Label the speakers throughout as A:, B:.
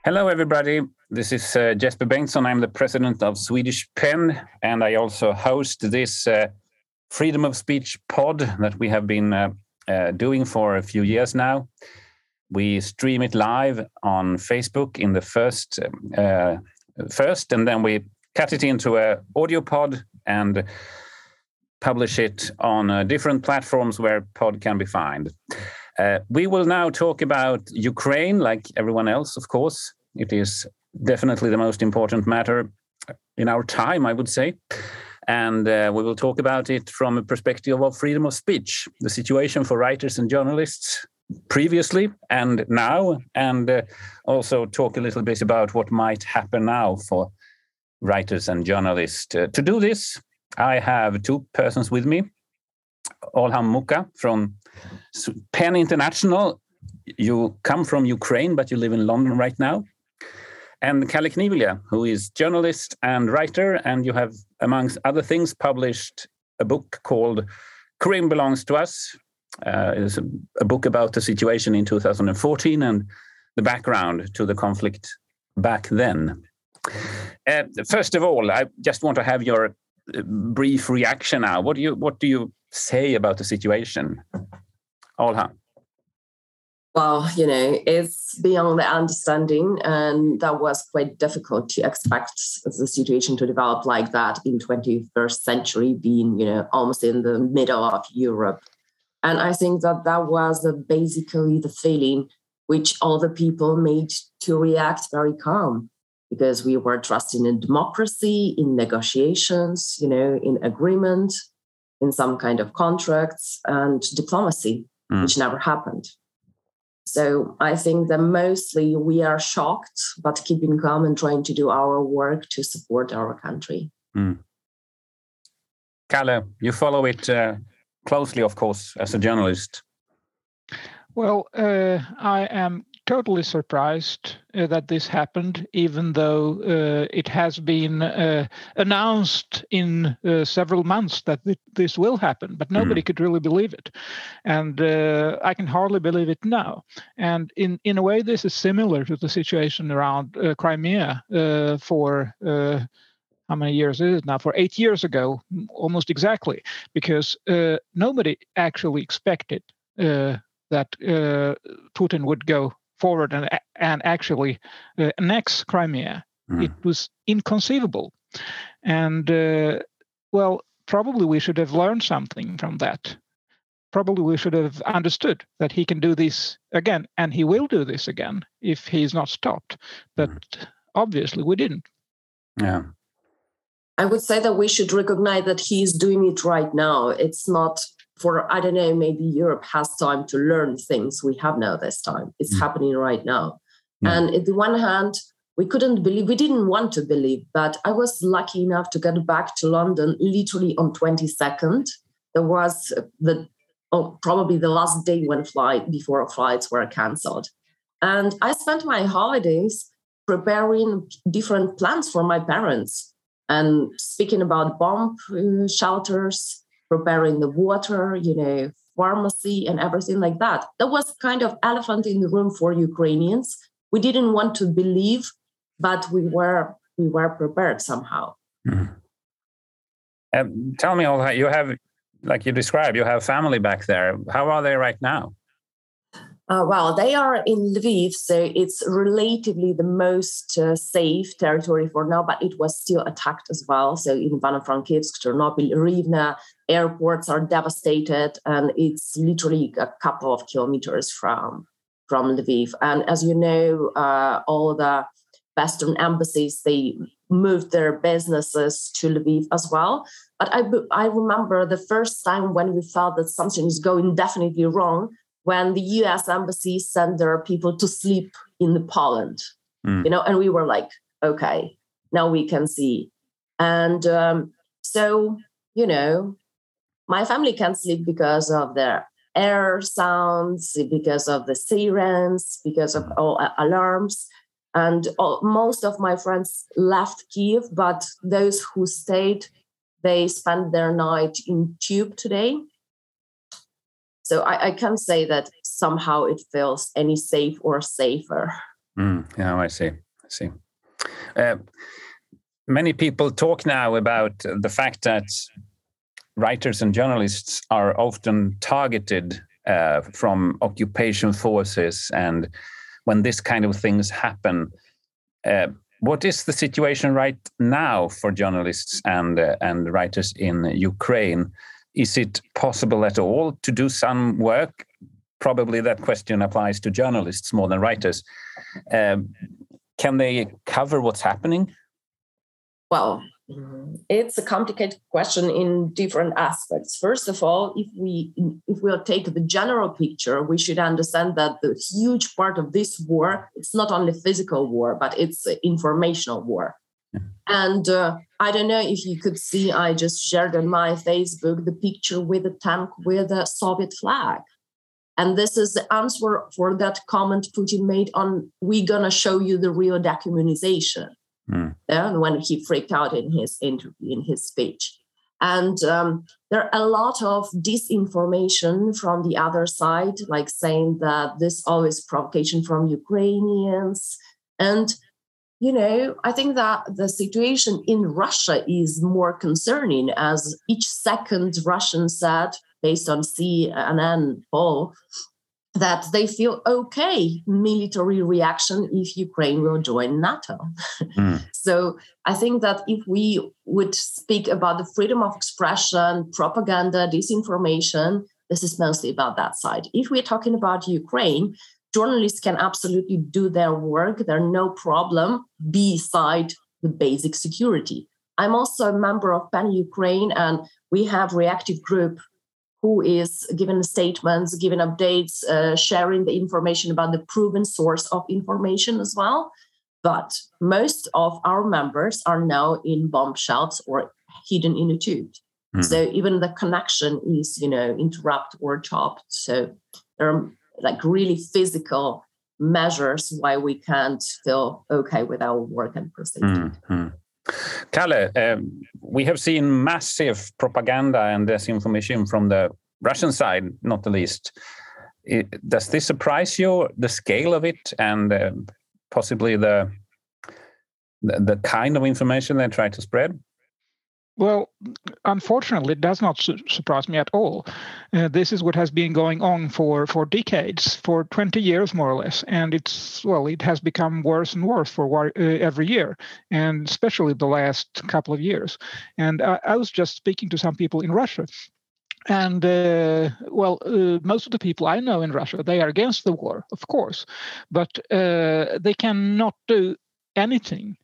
A: Hello, everybody. This is Jesper Bengtsson. I'm the president of Swedish PEN, and I also host this freedom of speech pod that we have been doing for a few years now. We stream it live on Facebook in the first, and then we cut it into an audio pod and publish it on different platforms where pod can be found. We will now talk about Ukraine, like everyone else, of course. It is definitely the most important matter in our time, I would say. And we will talk about it from a perspective of freedom of speech, the situation for writers and journalists previously and now, and also talk a little bit about what might happen now for writers and journalists. To do this, I have two persons with me. Olhan Muka from PEN International. You come from Ukraine, but you live in London right now. And Kalle Knivilja, who is journalist and writer, and you have, amongst other things, published a book called Crimea Belongs to Us. It's a book about the situation in 2014 and the background to the conflict back then. First of all, I just want to have your brief reaction now. What do you say about the situation? Olhan.
B: Well, it's beyond the understanding, and that was quite difficult to expect the situation to develop like that in 21st century, being, almost in the middle of Europe. And I think that was basically the feeling which all the people made to react very calm, because we were trusting in democracy, in negotiations, in agreement, in some kind of contracts and diplomacy, which never happened. So I think that mostly we are shocked, but keeping calm and trying to do our work to support our country.
A: Kalle, you follow it closely, of course, as a journalist.
C: Well, I am totally surprised that this happened, even though it has been announced in several months that this will happen, but nobody could really believe it. And I can hardly believe it now. And in a way, this is similar to the situation around Crimea for how many years is it now? For 8 years ago, almost exactly, because nobody actually expected that Putin would go forward and actually annex Crimea. It was inconceivable. And, probably we should have learned something from that. Probably we should have understood that he can do this again, and he will do this again if he's not stopped. But obviously we didn't.
A: Yeah.
B: I would say that we should recognize that he's doing it right now. It's not for, I don't know, maybe Europe has time to learn things we have now this time. It's happening right now. And on the one hand, we couldn't believe, we didn't want to believe, but I was lucky enough to get back to London literally on 22nd. There was probably the last day before flights were cancelled. And I spent my holidays preparing different plans for my parents and speaking about bomb shelters, preparing the water, pharmacy and everything like that. That was kind of elephant in the room for Ukrainians. We didn't want to believe, but we were prepared somehow.
A: Tell me, Olha, you have, like you described, you have family back there. How are they right now?
B: Well, they are in Lviv, so it's relatively the most safe territory for now, but it was still attacked as well. So in Ivano-Frankivsk, Chernobyl, Rivne, airports are devastated, and it's literally a couple of kilometers from Lviv. And as you know, all the Western embassies, they moved their businesses to Lviv as well. But I remember the first time when we felt that something is going definitely wrong, when the US embassy sent their people to sleep in Poland, and we were like, okay, now we can see. And so, my family can't sleep because of the air sounds, because of the sirens, because of all alarms. And most of my friends left Kyiv, but those who stayed, they spent their night in Tube today. So I can't say that somehow it feels any safe or safer.
A: Yeah, I see. Many people talk now about the fact that writers and journalists are often targeted from occupation forces, and when this kind of things happen, what is the situation right now for journalists and writers in Ukraine? Is it possible at all to do some work? Probably that question applies to journalists more than writers. Can they cover what's happening?
B: Well, it's a complicated question in different aspects. First of all, if we'll take the general picture, we should understand that the huge part of this war, it's not only physical war, but it's an informational war. And I don't know if you could see, I just shared on my Facebook the picture with a tank with a Soviet flag. And this is the answer for that comment Putin made on, we're going to show you the real dehumanization. When he freaked out in his interview, in his speech. And there are a lot of disinformation from the other side, like saying that this always provocation from Ukrainians. And, I think that the situation in Russia is more concerning, as each second Russian said, based on CNN poll, that they feel okay military reaction if Ukraine will join NATO. So I think that if we would speak about the freedom of expression, propaganda, disinformation, this is mostly about that side. If we're talking about Ukraine, journalists can absolutely do their work. There's no problem beside the basic security. I'm also a member of PEN Ukraine, and we have reactive group who is giving statements, giving updates, sharing the information about the proven source of information as well. But most of our members are now in bomb shells or hidden in a tube. So even the connection is, interrupted or chopped. So there are like really physical measures why we can't feel okay with our work and proceed.
A: Kalle, we have seen massive propaganda and disinformation from the Russian side, not the least. Does this surprise you, the scale of it, and possibly the kind of information they try to spread?
C: Well, unfortunately, it does not surprise me at all. This is what has been going on for decades, for 20 years more or less, and it has become worse and worse for every year, and especially the last couple of years. And I was just speaking to some people in Russia, and most of the people I know in Russia, they are against the war, of course, but they cannot do anything.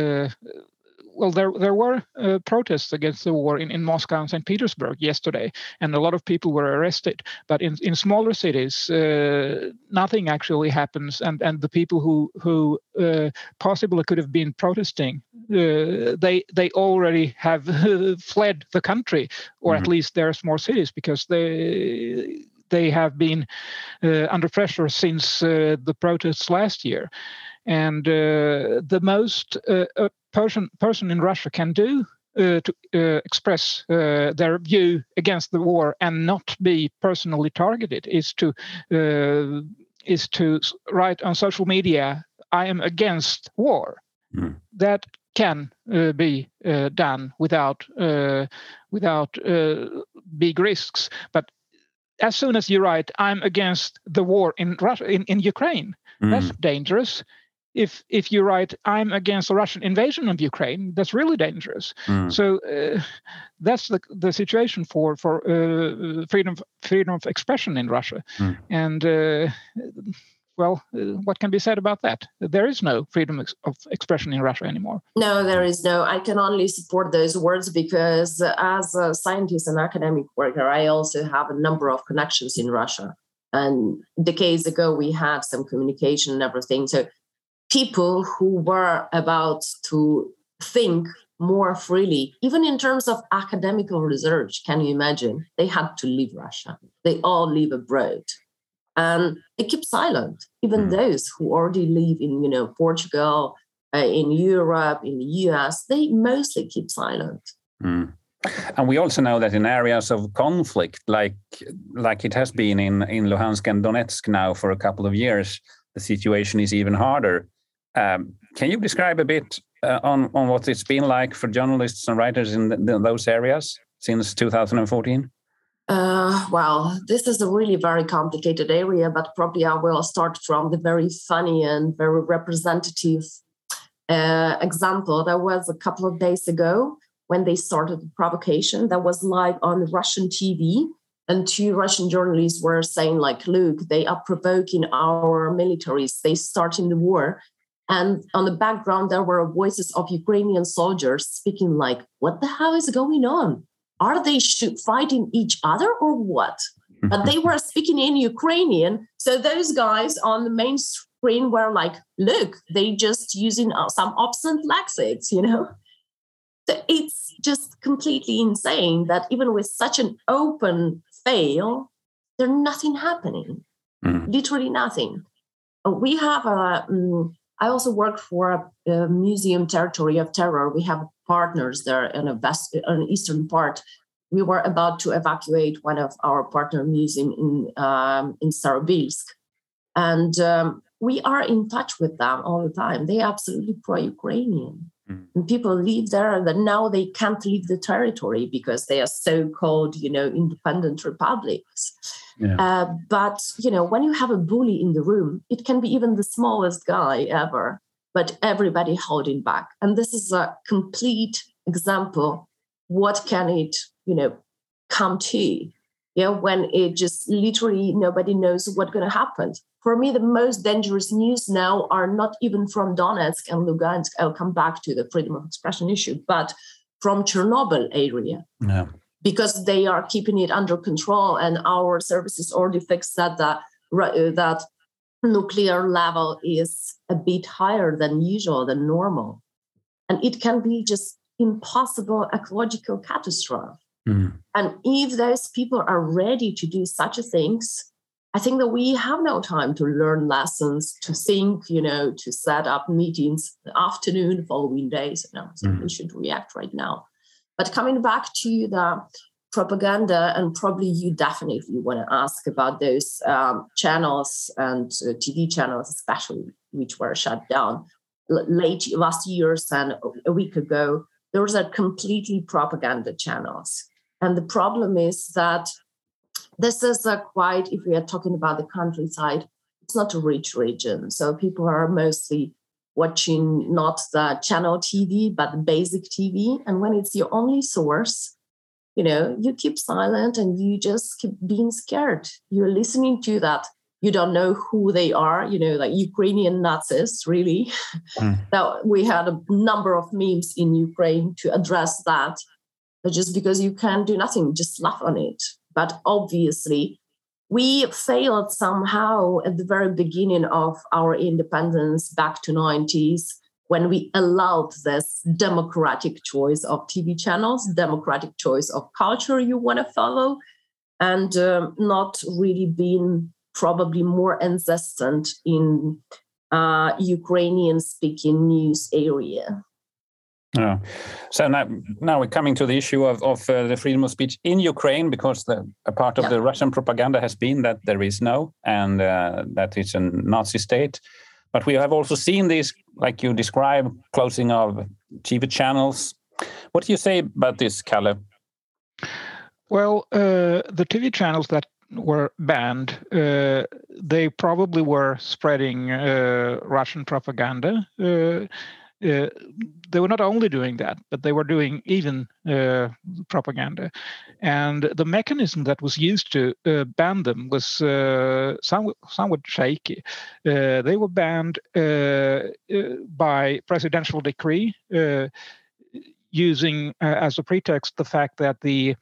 C: There were protests against the war in Moscow and St. Petersburg yesterday, and a lot of people were arrested. But in smaller cities, nothing actually happens, and the people who possibly could have been protesting, they already have fled the country, or at least their small cities, because they have been under pressure since the protests last year. And the most person in Russia can do to express their view against the war and not be personally targeted is to write on social media, "I am against war." That can be done without big risks. But as soon as you write, "I'm against the war in Russia, in Ukraine," that's dangerous. If you write, "I'm against the Russian invasion of Ukraine," that's really dangerous. So that's the situation for freedom of expression in Russia. And what can be said about that? There is no freedom of expression in Russia anymore.
B: No, there is no. I can only support those words because as a scientist and academic worker, I also have a number of connections in Russia. And decades ago, we had some communication and everything. So people who were about to think more freely, even in terms of academical research, can you imagine? They had to leave Russia. They all live abroad. And they keep silent. Even those who already live in, Portugal, in Europe, in the US, they mostly keep silent.
A: And we also know that in areas of conflict, like it has been in Luhansk and Donetsk now for a couple of years, the situation is even harder. Can you describe a bit on what it's been like for journalists and writers in those areas since 2014?
B: Well, this is a really very complicated area, but probably I will start from the very funny and very representative example. That was a couple of days ago when they started the provocation that was live on Russian TV. And 2 Russian journalists were saying, like, look, they are provoking our militaries. They starting the war. And on the background, there were voices of Ukrainian soldiers speaking like, what the hell is going on? Are they fighting each other or what? But they were speaking in Ukrainian. So those guys on the main screen were like, look, they just using some obscene lexics, you know? So it's just completely insane that even with such an open fail, there's nothing happening, literally nothing. We have I also work for a museum territory of terror. We have partners there in an eastern part. We were about to evacuate one of our partner museum in Starobilsk. And we are in touch with them all the time. They are absolutely pro-Ukrainian. And people live there, and then now they can't leave the territory because they are so-called, independent republics. Yeah. But, when you have a bully in the room, it can be even the smallest guy ever, but everybody holding back. And this is a complete example. What can it, come to? When it just literally nobody knows what's going to happen. For me, the most dangerous news now are not even from Donetsk and Lugansk. I'll come back to the freedom of expression issue, but from Chernobyl area. Yeah. Because they are keeping it under control, and our services already fixed that that nuclear level is a bit higher than usual, than normal. And it can be just impossible ecological catastrophe. And if those people are ready to do such a things, I think that we have no time to learn lessons, to think, to set up meetings the afternoon, following days. So we should react right now. But coming back to the propaganda, and probably you definitely want to ask about those channels and TV channels, especially, which were shut down late last years and a week ago. Those are completely propaganda channels. And the problem is that this is if we are talking about the countryside, it's not a rich region. So people are mostly watching not the channel TV, but the basic TV. And when it's your only source, you keep silent and you just keep being scared. You're listening to that. You don't know who they are, like Ukrainian Nazis, really. That we had a number of memes in Ukraine to address that. Just because you can't do nothing, just laugh on it. But obviously, we failed somehow at the very beginning of our independence back to 90s, when we allowed this democratic choice of TV channels, democratic choice of culture you want to follow, and not really being probably more insistent in Ukrainian-speaking news area.
A: Oh. So now we're coming to the issue of the freedom of speech in Ukraine, because a part of the Russian propaganda has been that there is no, and that it's a Nazi state. But we have also seen this, like you describe, closing of TV channels. What do you say about this, Kalle?
C: Well, the TV channels that were banned, they probably were spreading Russian propaganda. They were not only doing that, but they were doing even propaganda. And the mechanism that was used to ban them was somewhat shaky. They were banned by presidential decree, using as a pretext the fact that the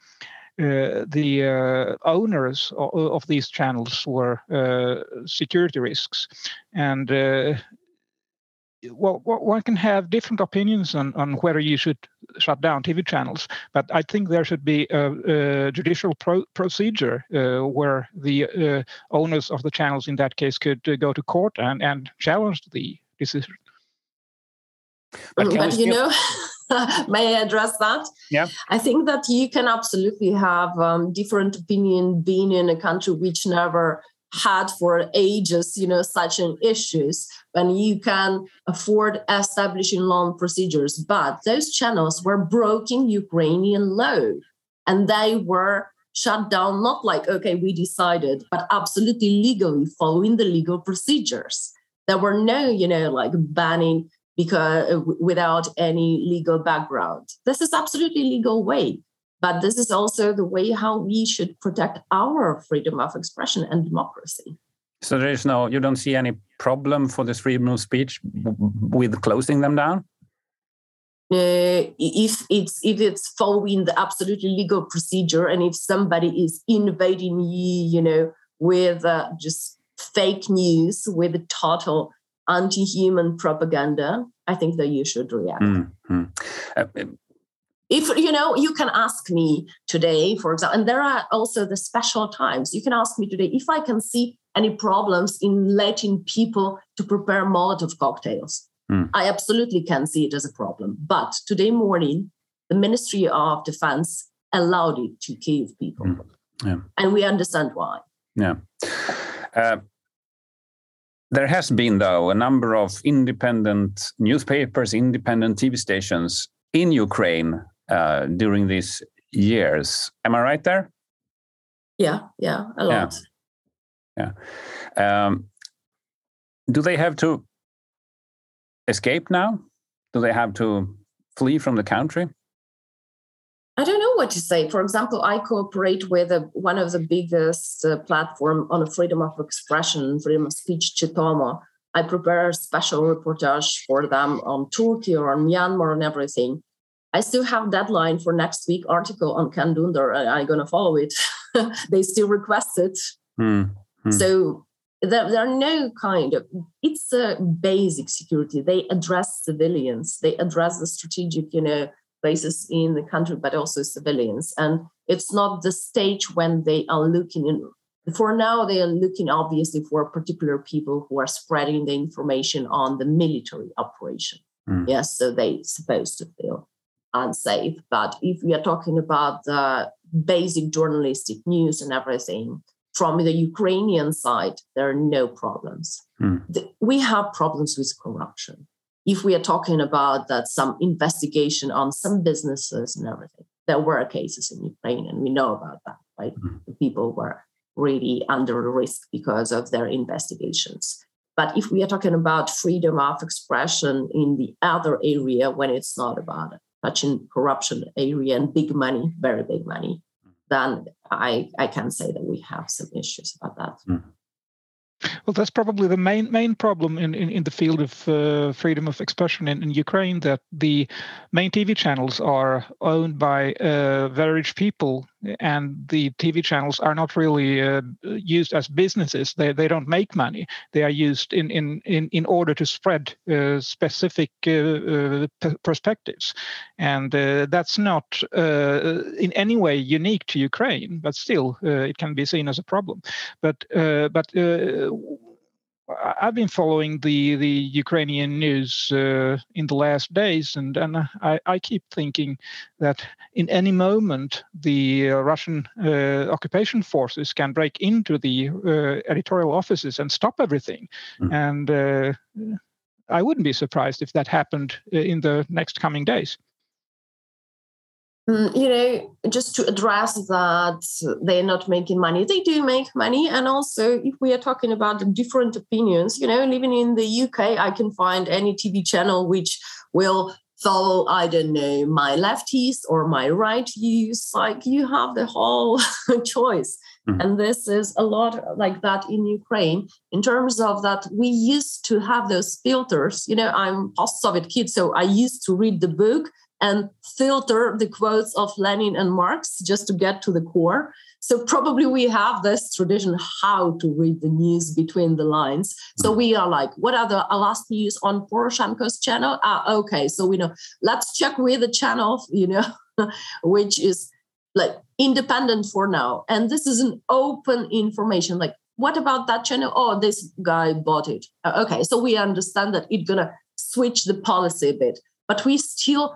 C: owners of these channels were security risks. And well, one can have different opinions on whether you should shut down TV channels, but I think there should be a judicial procedure where the owners of the channels in that case could go to court and challenge the decision.
B: But may I address that?
A: Yeah.
B: I think that you can absolutely have different opinion being in a country which never had for ages, such an issues when you can afford establishing loan procedures. But those channels were broken Ukrainian law, and they were shut down, not like, okay, we decided, but absolutely legally following the legal procedures. There were no, like banning because without any legal background. This is absolutely legal way. But this is also the way how we should protect our freedom of expression and democracy.
A: So you don't see any problem for this freedom of speech with closing them down?
B: If it's following the absolutely legal procedure, and if somebody is invading you, with just fake news, with total anti-human propaganda, I think that you should react. Mm-hmm. If, you can ask me today, for example, and there are also the special times, you can ask me today if I can see any problems in letting people to prepare Molotov cocktails. I absolutely can see it as a problem. But today morning, the Ministry of Defense allowed it to kill people. Yeah. And we understand why.
A: Yeah. There has been, though, a number of independent newspapers, independent TV stations in Ukraine during these years. Am I right there?
B: Yeah, a lot.
A: Yeah. Do they have to escape now? Do they have to flee from the country?
B: I don't know what to say. For example, I cooperate with one of the biggest platform on freedom of expression, freedom of speech, Chitomo. I prepare a special reportage for them on Turkey or on Myanmar and everything. I still have deadline for next week article on Can Dündar. I'm going to follow it. They still request it. So there are no kind of, it's a basic security. They address civilians. They address the strategic, places in the country, but also civilians. And it's not the stage when they are looking in. For now, they are looking obviously for particular people who are spreading the information on the military operation. Yes, so they're supposed to feel unsafe. But if we are talking about the basic journalistic news and everything, from the Ukrainian side, there are no problems. We have problems with corruption. If we are talking about that, some investigation on some businesses and everything, there were cases in Ukraine, and we know about that, right? The people were really under risk because of their investigations. But if we are talking about freedom of expression in the other area, when it's not about touching corruption area and big money, very big money, then I can say that we have some issues about that.
C: Well, that's probably the main problem in the field of freedom of expression in Ukraine, that the main TV channels are owned by very rich people, and the TV channels are not really used as businesses. They don't make money. They are used in order to spread specific perspectives, and that's not in any way unique to Ukraine, but still it can be seen as a problem. But I've been following the Ukrainian news in the last days, and I keep thinking that in any moment the Russian occupation forces can break into the editorial offices and stop everything. And I wouldn't be surprised if that happened in the next coming days.
B: Just to address that they're not making money. They do make money. And also, if we are talking about different opinions, living in the UK, I can find any TV channel which will follow, I don't know, my lefties or my right views. Like, you have the whole choice. And this is a lot like that in Ukraine. In terms of that, we used to have those filters. I'm post-Soviet kid, so I used to read the book and filter the quotes of Lenin and Marx just to get to the core. So probably we have this tradition how to read the news between the lines. So we are like, what are the last news on Poroshenko's channel? Okay, so we know. Let's check with the channel, which is like independent for now. And this is an open information. Like, what about that channel? Oh, this guy bought it. Okay, so we understand that it's gonna switch the policy a bit, but we still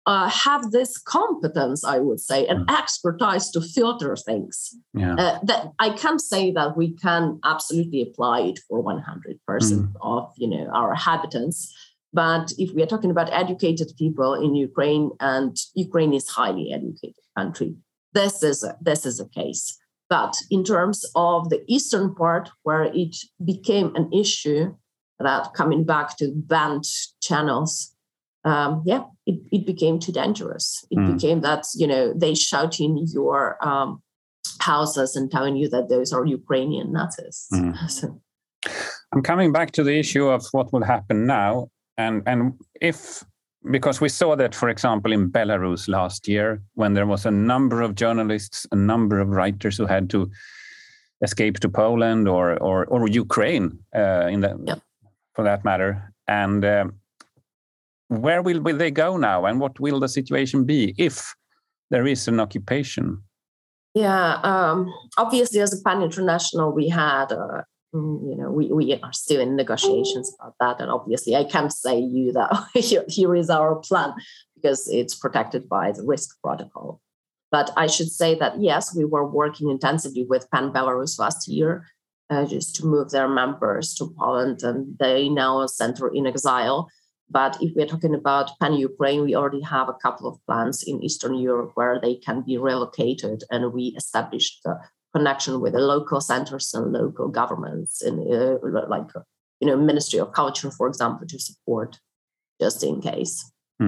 B: have this competence, I would say, and expertise to filter things. That I can't say that we can absolutely apply it for 100% of our inhabitants. But if we are talking about educated people in Ukraine, and Ukraine is a highly educated country, this is a case. But in terms of the eastern part, where it became an issue, that coming back to banned channels, it became too dangerous. It became that, they shout in your houses and telling you that those are Ukrainian Nazis.
A: I'm coming back to the issue of what will happen now. And if, because we saw that, for example, in Belarus last year, when there was a number of journalists, a number of writers who had to escape to Poland or Ukraine, for that matter. And where will they go now? And what will the situation be if there is an occupation?
B: Obviously, as a PAN International, we had... we are still in negotiations about that. And obviously, I can't say you that here is our plan, because it's protected by the risk protocol. But I should say that, yes, we were working intensively with PAN Belarus last year just to move their members to Poland, and they now center in exile. But if we're talking about PAN Ukraine, we already have a couple of plans in Eastern Europe where they can be relocated, and we established the connection with the local centers and local governments, in Ministry of Culture, for example, to support, just in case.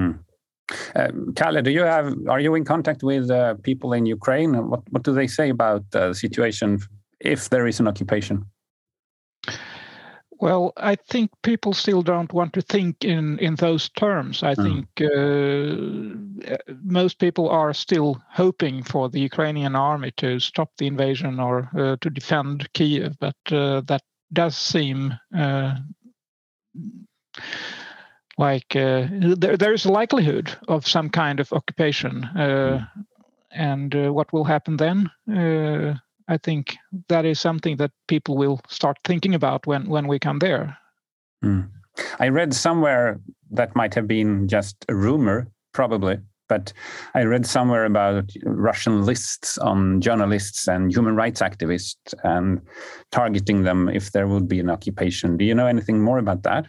A: Kalle, are you in contact with people in Ukraine? What do they say about the situation if there is an occupation?
C: Well, I think people still don't want to think in those terms. I think most people are still hoping for the Ukrainian army to stop the invasion or to defend Kyiv, but that does seem like there is a likelihood of some kind of occupation. And what will happen then? I think that is something that people will start thinking about when we come there.
A: I read somewhere, that might have been just a rumor, probably, but I read somewhere about Russian lists on journalists and human rights activists and targeting them if there would be an occupation. Do you know anything more about that?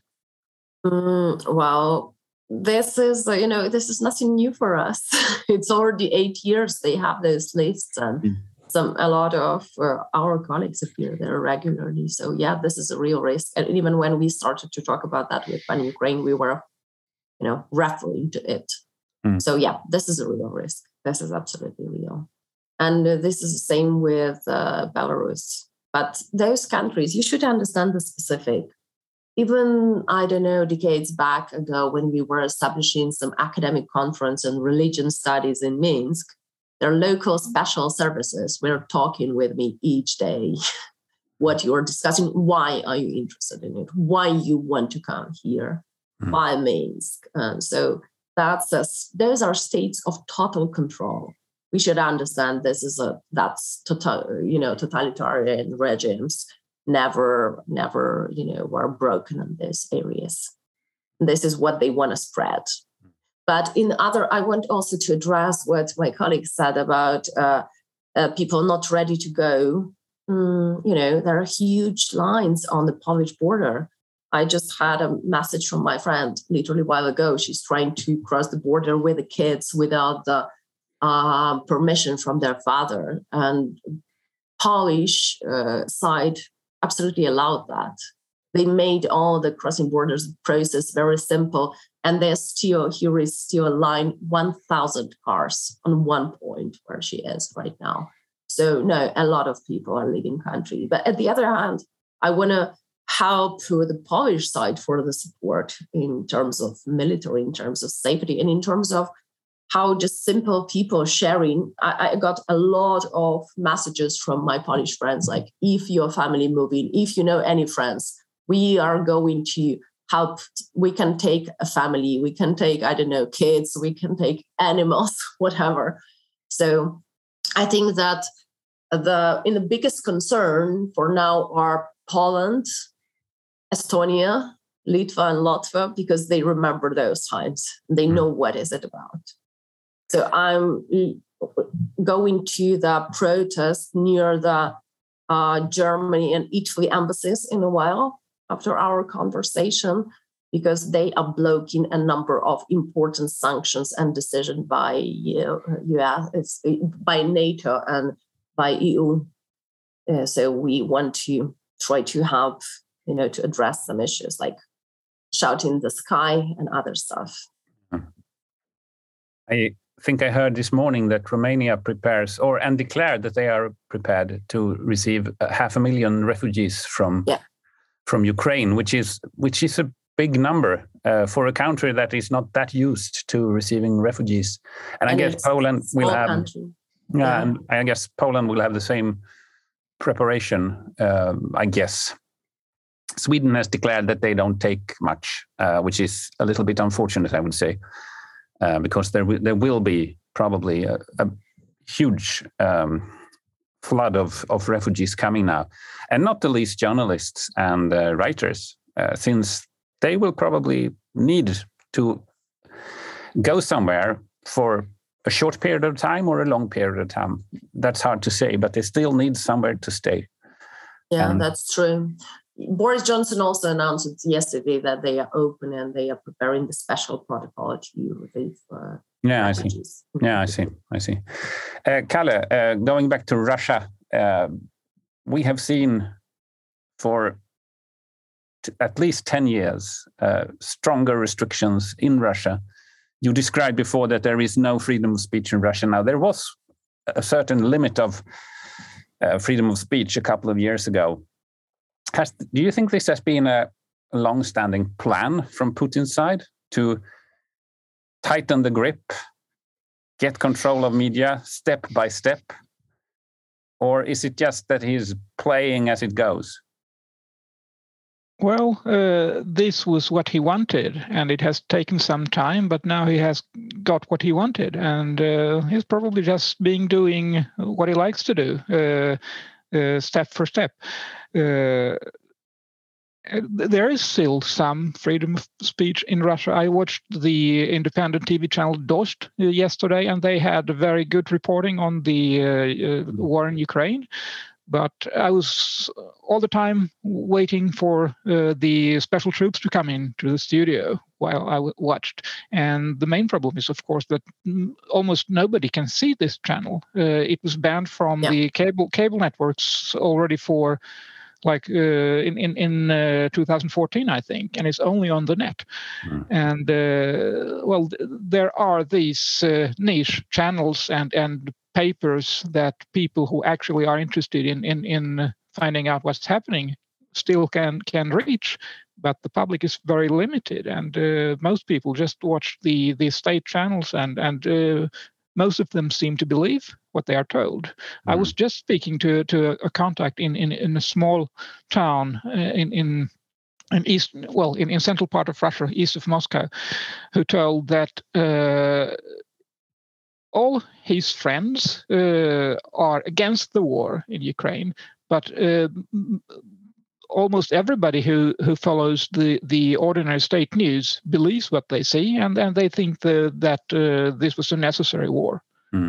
B: Well, this is nothing new for us. It's already 8 years they have those lists, and a lot of our colleagues appear there regularly. So this is a real risk. And even when we started to talk about that with PAN Ukraine, we were, referring to it. So this is a real risk. This is absolutely real. And this is the same with Belarus. But those countries, you should understand the specific. Even, I don't know, decades back ago, when we were establishing some academic conference on religion studies in Minsk, their local special services were talking with me each day. What you're discussing, why are you interested in it? Why you want to come here? Why Minsk? So those are states of total control. We should understand totalitarian regimes never were broken in these areas. This is what they want to spread. But I want also to address what my colleague said about people not ready to go. There are huge lines on the Polish border. I just had a message from my friend literally a while ago. She's trying to cross the border with the kids without the permission from their father. And Polish side absolutely allowed that. They made all the crossing borders process very simple. And here is still a line, 1,000 cars on one point where she is right now. So no, a lot of people are leaving country. But at the other hand, I want to help the Polish side for the support in terms of military, in terms of safety, and in terms of how just simple people sharing. I got a lot of messages from my Polish friends, like, if your family moving, if you know any friends, we are going to help. We can take a family, we can take, I don't know, kids, we can take animals, whatever. So I think that the biggest concern for now are Poland, Estonia, Litva, and Latvia, because they remember those times. They know what is it about. So I'm going to the protest near the Germany and Italy embassies in a while after our conversation, because they are blocking a number of important sanctions and decisions by US, by NATO and by EU. So we want to try to have, to address some issues like shouting in the sky and other stuff.
A: I think I heard this morning that Romania prepares and declared that they are prepared to receive 500,000 refugees from Ukraine, which is a big number for a country that is not that used to receiving refugees. And I guess Poland will have, and I guess Poland will have the same preparation. I guess Sweden has declared that they don't take much, which is a little bit unfortunate, I would say. Because there will be probably a huge flood of refugees coming now, and not the least journalists and writers, since they will probably need to go somewhere for a short period of time or a long period of time. That's hard to say, but they still need somewhere to stay.
B: Yeah, that's true. Boris Johnson also announced yesterday that they are open and they are preparing the special protocol to relieve refugees.
A: I see. Kalle, going back to Russia, we have seen for at least 10 years stronger restrictions in Russia. You described before that there is no freedom of speech in Russia now. There was a certain limit of freedom of speech a couple of years ago. Do you think this has been a long-standing plan from Putin's side to tighten the grip, get control of media step by step? Or is it just that he's playing as it goes?
C: Well, this was what he wanted, and it has taken some time, but now he has got what he wanted, and he's probably just doing what he likes to do, step for step. There is still some freedom of speech in Russia. I watched the independent TV channel Dost yesterday, and they had very good reporting on the war in Ukraine. But I was all the time waiting for the special troops to come into the studio while I watched. And the main problem is, of course, that almost nobody can see this channel. It was banned from the cable networks already for in 2014, I think, and it's only on the net. And there are these niche channels and papers that people who actually are interested in finding out what's happening still can reach, but the public is very limited, and most people just watch the state channels, and most of them seem to believe what they are told. I was just speaking to a contact in a small town in central part of Russia, east of Moscow, who told that all his friends are against the war in Ukraine, but almost everybody who follows the ordinary state news believes what they see, and they think that this was a necessary war.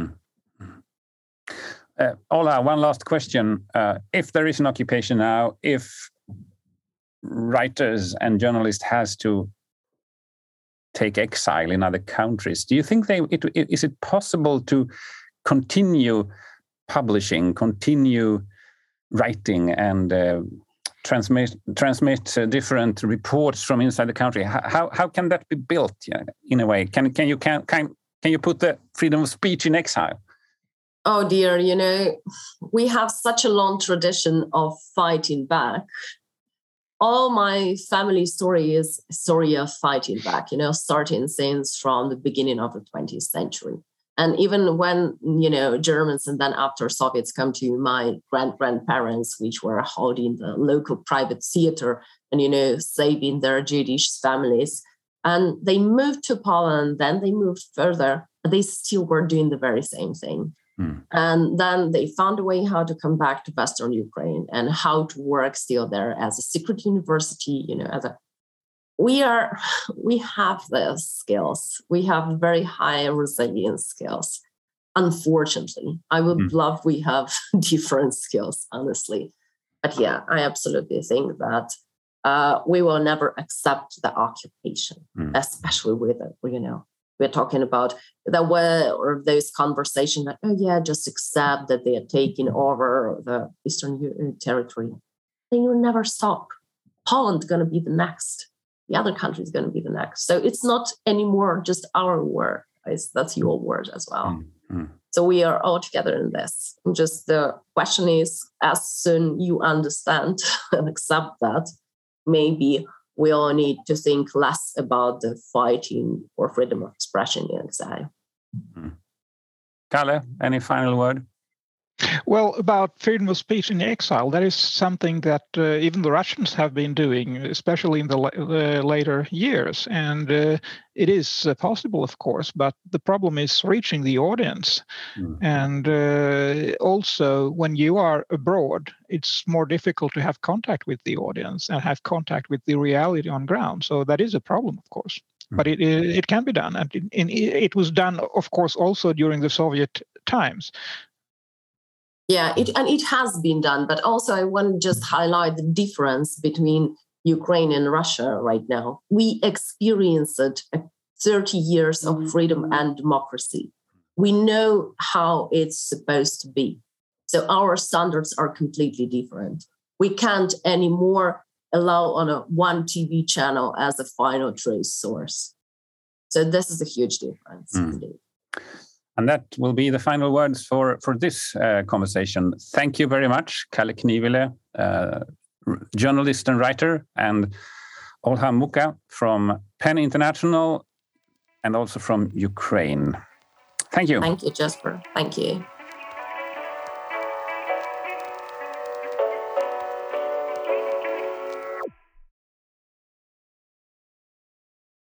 A: Ola, one last question. If there is an occupation now, if writers and journalists has to take exile in other countries, do you think is it possible to continue publishing, continue writing, and transmit different reports from inside the country? How can that be built in a way? Can you put the freedom of speech in exile?
B: Oh dear, we have such a long tradition of fighting back. All my family story is story of fighting back, starting since from the beginning of the 20th century. And even when, Germans and then after Soviets come to my grandparents, which were holding the local private theater and, saving their Jewish families. And they moved to Poland, then they moved further. They still were doing the very same thing. And then they found a way how to come back to Western Ukraine and how to work still there as a secret university, as a we have the skills. We have very high resilience skills. Unfortunately, I would love we have different skills, honestly. But yeah, I absolutely think that we will never accept the occupation, especially with it. We're talking about those conversations that, oh yeah, just accept that they are taking over the Eastern territory. They will never stop. Poland is going to be the next. The other country is going to be the next. So it's not anymore just our word. That's your word as well. So we are all together in this. And just the question is, as soon you understand and accept that, maybe we all need to think less about the fighting for freedom of expression in exile.
A: Kalle, any final word?
C: Well, about freedom of speech in exile, that is something that even the Russians have been doing, especially in the later years. And it is possible, of course, but the problem is reaching the audience. And also, when you are abroad, it's more difficult to have contact with the audience and have contact with the reality on ground. So that is a problem, of course. But it can be done. And it was done, of course, also during the Soviet times.
B: Yeah, it has been done, but also I want to just highlight the difference between Ukraine and Russia right now. We experienced 30 years of freedom and democracy. We know how it's supposed to be. So our standards are completely different. We can't anymore allow on one TV channel as a final truth source. So this is a huge difference indeed.
A: And that will be the final words for this conversation. Thank you very much, Kalle Knivile, journalist and writer, and Olha Mucha from PEN International and also from Ukraine. Thank you.
B: Thank you, Jesper. Thank you.